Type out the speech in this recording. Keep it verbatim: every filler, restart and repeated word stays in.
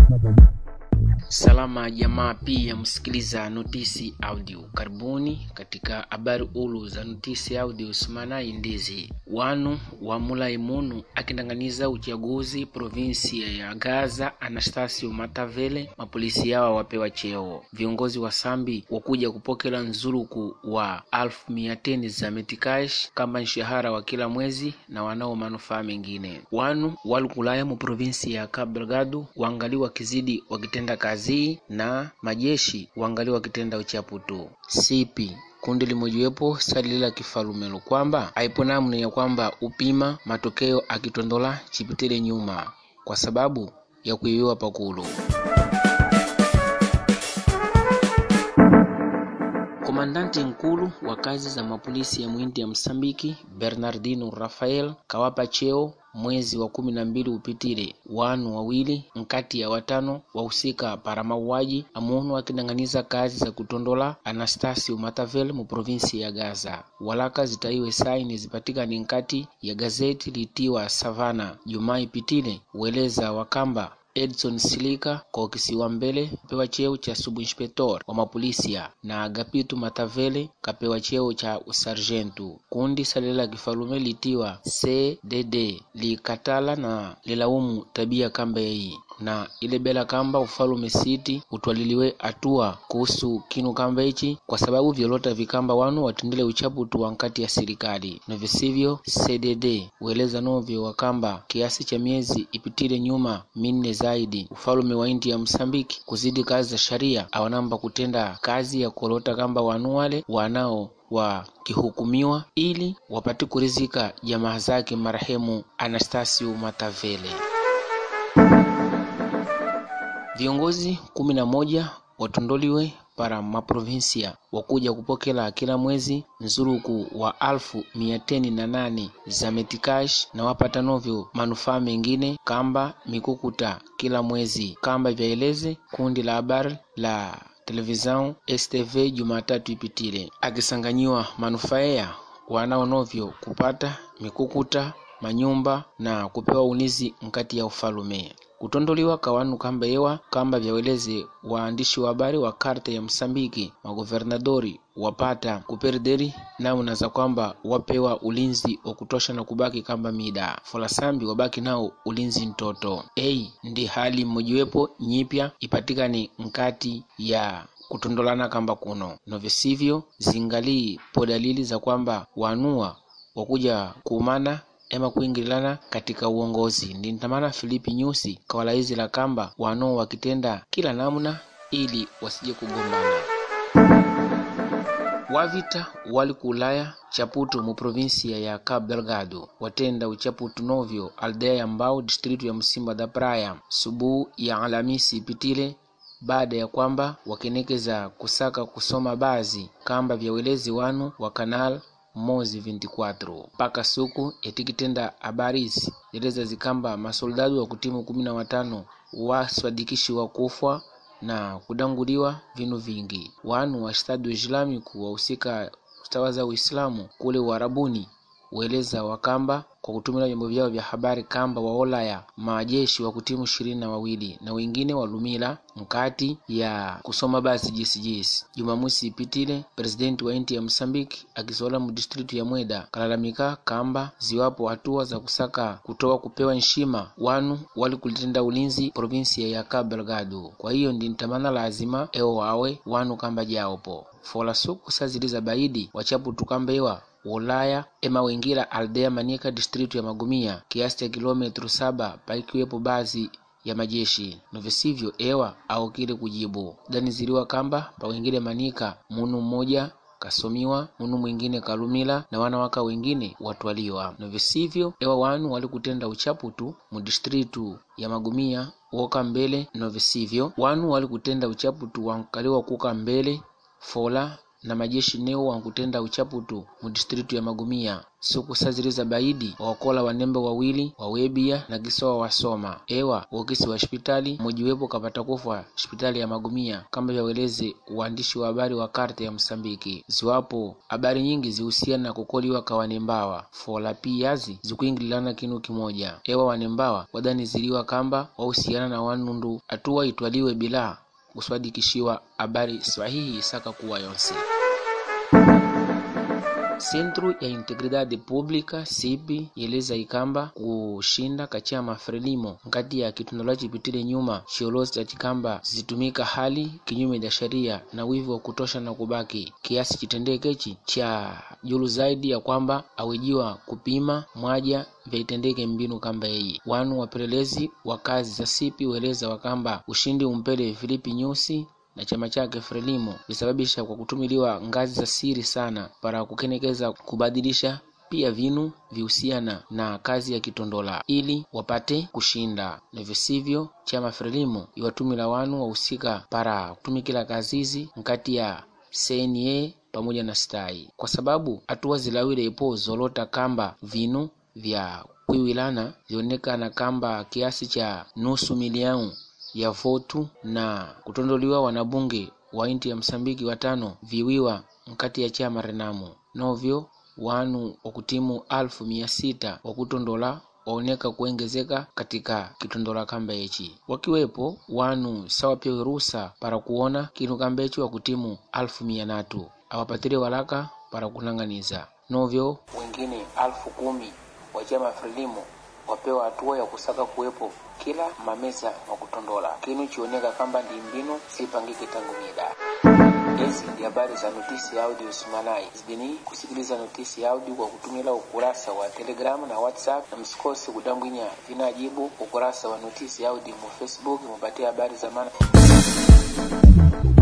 Salama jamaa, pia msikiliza notisi audio. Karibuni katika habari ulu za notisi audio semana indizi. Wanu wa Mulaimunu akindanganiza uchaguzi provinsia ya Gaza Anastasio Matavele, mapolisi yao wapewa cheo. Viongozi wa Sambi wakuja kupokela nzuluku wa alfu miateni za metikash kama mshahara wa kila mwezi na wanao manufaa mengine. Wanu walukulaya mu provinsia ya Cabo Delgado waangaliwa kizidi wakitenda kazi na majeshi wangali wakitenda uchaputu. Sipi kundi limojiwepo salila kifalumelo kwamba haipo namna ya kwamba upima matokeo akitondola chipitele nyuma kwa sababu ya kuiwiwa pakulu. Komandante nkulu wa kazi za mapolisi ya mwindi ya Msambiki Bernardino Rafael kawapa cheo mwezi wa kumi na mbili upitire. Wanu wawili nkati ya watano wahusika para mauaji amuonu wakidanganiza kazi za kutondola Anastasio Matavele mu provinsi ya Gaza. Walaka zitaiwe saini zipatika ni nkati ya gazeti litiwa Savana Jumai pitile ueleza wakamba Edson Silika kwa kisiwa mbele pewa cheo cha subinspector wa mapolisia na Agapito Matavele kapewa cheo cha usargentu. Kundi salela kifalume litiwa C D D likatala na lilaumu tabia kamba hii na ile bela kamba ufalume city utwaliliwe atua kuhusu kinu kamba hichi kwa sababu violota vikamba wanu watendele uchaputu wankati ya serikali. Na visivyo C D D ueleza novyo wakamba kiasi cha miezi ipitile nyuma minne zaidi ufalume wa inti ya Msambiki kuzidi kazi za sharia awanamba kutenda kazi ya kolota kamba wanu wale wanao wa kihukumiwa ili wapati kurizika jamaa zake marehemu Anastasio Matavele. Viongozi kumi na moja watondoliwe para maprovinsia wakuja kupokela kila mwezi nzuruku wa alfu miateni na nane za metikash na wapata novyo manufaa mengine kamba mikukuta kila mwezi kamba vyaeleze kundi la habari la televizão S T V Jumatatu ipitile akisanganyiwa manufaa ya wanao novyo kupata mikukuta manyumba na kupewa unizi nkati ya ufalume. Kutondoliwa kawanu kamba ewa kamba vyaweleze waandishi wa habari wa karta ya Msambiki magovernadori wapata kuperderi namna za kwamba wapewa ulinzi wa kutosha na kubaki kamba mida Folasambi wabaki nao ulinzi mtoto. Ei ndi hali mmojiwepo nyipya ipatikani nkati ya kutondolana kamba kuno. Novisivyo zingali po dalili za kwamba wanua wakuja kuumana ema kuingilana katika uongozi. Ndintamana Filipi Nyusi kawalaizi la kamba wano wakitenda kila namna ili wasije kugombana. Wavita wali kulaya chaputu mu provinsia ya Cabo Delgado watenda uchaputu novyo aldea ya Mbao distritu ya Msimba da Praia subu ya Alamisi pitile baada ya kwamba wakenekeza kusaka kusoma bazi kamba vya welezi wanu wa kanal Mozi ishirini na nne paka suku etikitenda habarizi zeleza zikamba masoldadu wa kutimu kumi na watano waswadikishi wa kufwa na kudanguliwa vinu vingi. Wanu wa Estado Islamiku wahusika ustawaza Uislamu kule Uarabuni ueleza wakamba kwa kutumila vyombo vyao vya habari kamba waolaya majeshi wa kutimu ishirini na wawili na wengine walumila mkati ya kusoma basi jisi jisi. Jumamusi ipitile presidenti wa inti ya Msambiki akisola mu distritu ya Mweda kalalamika kamba ziwapo hatua za kusaka kutoa kupewa nshima wanu wali kulitenda ulinzi provinsia ya Cabo Delgado. Kwa hiyo ndi ntamana lazima eo wawe wanu kamba jaopo fola suku saziliza baidi wachapu tukamba ewa Ulaya ema wengira aldea Manika distritu ya Magumia kiasi ya kilometru saba paikiwepo bazi ya majeshi. Novisivyo ewa au kile kujibu dani ziliwa kamba pa wengine Manika munu mmoja kasomiwa munu mwingine kalumila na wanawaka wengine watwaliwa. Novisivyo ewa wanu wali kutenda uchaputu mu distritu ya Magumia woka mbele. Novisivyo wanu wali kutenda uchaputu wankaliwa kuka mbele fola na majeshi neo wankutenda uchaputu mu distritu ya Magumia. Siku saziriza baidi wakola wanembe wawili wawebia na kisowa wasoma ewa wakisi wa hospitali mojiwepo kapata kufa hospitali ya Magumia, kama vyaweleze uandishi wa habari wa Karte ya Msambiki. Ziwapo habari nyingi zihusiana na kukoliwa kwa wanembawa fola piyazi zikuingilana kinu kimoja. Ewa wanembawa wadani ziliwa kamba wahusiana na wanundu atua itwaliwe bila kuswadikishiwa habari sahihi saka kuwa yonse. Centro ya Integridade Pública C I P yeleza ikamba kushinda kachama Frelimo ngati ya kitundula chipitile nyuma chiolozi cha chikamba zitumika hali kinyume ya sheria na wivu wa kutosha na kubaki kiasi chitendekechi cha julu zaidi ya kwamba awejiwa kupima mwaja vyaitendeke mbinu kamba hii. Wanu wapelelezi wa kazi za C I P weleza wakamba ushindi umpele Filipi Nyusi na chama chake Frelimo visababisha kwa kutumiliwa ngazi za siri sana para kukenekeza kubadilisha pia vinu vihusiana na kazi ya kitondola ili wapate kushinda, na visivyo chama Frelimo iwatumila wanu wahusika para kutumikila kazizi nkati ya C N A pamoja na stai, kwa sababu hatua zilawile ipo zolota kamba vinu vya kuiwilana vionekana kamba kiasi cha nusu milioni ya votu na kutondoliwa wanabunge wa inti ya Msambiki watano viwiwa mkati ya chama Renamo. Novyo wanu wakutimu alfu mia sita wakutondola waoneka kuengezeka katika kitondola kamba echi, wakiwepo wanu sawa pia rusa para kuona kinu kamba echi wakutimu alfu mia natu awapatire walaka para kunanganiza. Novyo wengine alfu kumi wa chama Frelimo wapewa hatua ya kusaka kuwepo kila mameza wa kutondola kinu chioneka kamba ndi mbinu sipangike tangu mida. Hizi ndi habari za Notisi Audio Simanai. Zidini kusikiliza Notisi Audio kwa kutumila ukurasa wa Telegram na WhatsApp, na msikose kudambwinya vinajibu ukurasa wa Notisi Audio mu Facebook mupatie habari za maana.